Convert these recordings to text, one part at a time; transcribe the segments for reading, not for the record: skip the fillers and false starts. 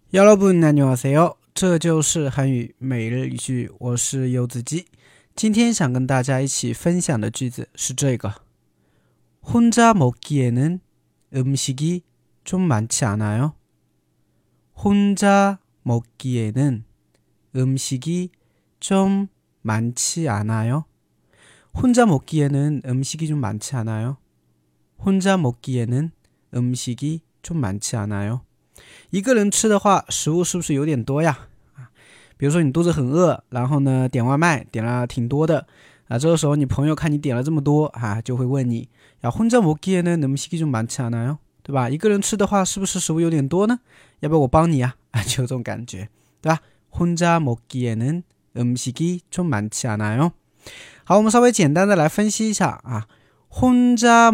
여러분 안녕하세요，这就是韩语每日一句，我是柚子鸡。今天想跟大家一起分享的句子是这个：혼자 먹기에는 음식이 좀 많지 않아요? 혼자 먹기에는 음식이 좀 많지 않아요? 혼자 먹기에는 음식이 좀 많지 않아요? 혼자 먹기에는 음식이 좀 많지 않아요? 一个人吃的话，食物是不是有点多呀？比如说你肚子很饿，然后呢点外卖点了挺多的这个时候你朋友看你点了这么多就会问你呀，혼자 먹기에는 음식이 좀 많지 않아요？对吧？一个人吃的话，是不是食物有点多呢？要不要我帮你就有这种感觉，对吧？혼자 먹기에는 음식이 좀 많지 않아요？好，我们稍微简单的来分析一下혼자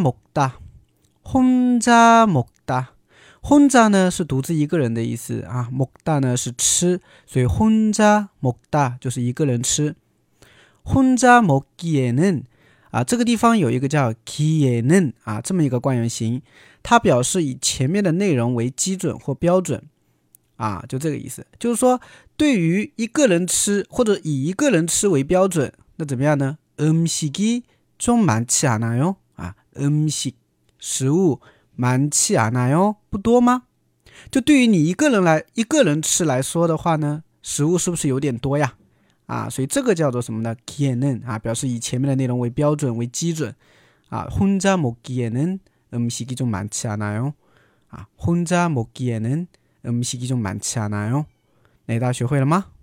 먹다，혼자 먹다。혼자呢是独自一个人的意思먹다呢是吃，所以혼자 먹다就是一个人吃。혼자 먹기에는这个地方有一个叫기에는这么一个惯用型，它表示以前面的内容为基准或标准就这个意思。就是说对于一个人吃或者以一个人吃为标准，那怎么样呢？음식이 좀 많지 않아요？음식食物많지 않아요？不多吗？就对于你一个人吃来说的话呢，食物是不是有点多呀？所以这个叫做什么呢？기에는表示以前面的内容为标准为基准혼자 먹기에는 음식이 좀 많지 않아요？혼자 먹기에는 음식이 좀 많지 않아요？ 那大家学会了吗？